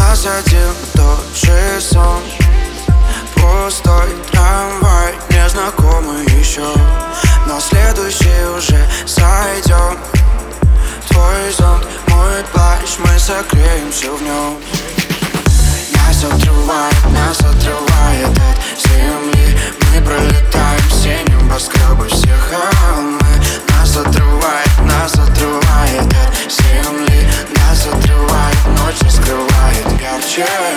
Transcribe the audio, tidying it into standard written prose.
нас один тот же сон. Пустой трамвай, незнакомый еще, но следующий уже сойдем. Твой зонт, мой плащ, мы согреемся в нем. Нас отрывает от земли. Мы пролетаем все небоскребы, все холмы. Нас отрывает от земли. Нас отрывает, ночь скрывает ярче.